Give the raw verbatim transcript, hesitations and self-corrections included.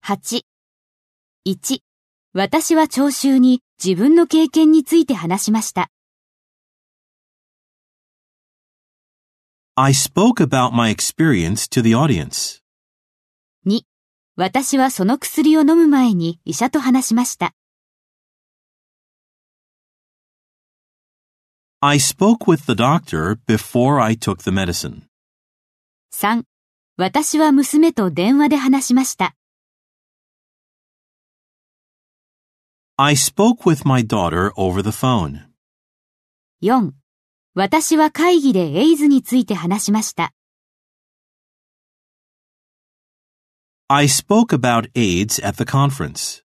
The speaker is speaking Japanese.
はち、いち、私は聴衆に自分の経験について話しました。 I spoke about my experience to the audience. に、私はその薬を飲む前に医者と話しました。 I spoke with the doctor before I took the medicine. さん、私は娘と電話で話しました。 I spoke with my daughter over the phone. よん、私は会議でエイズについて話しました。 I spoke about AIDS at the conference.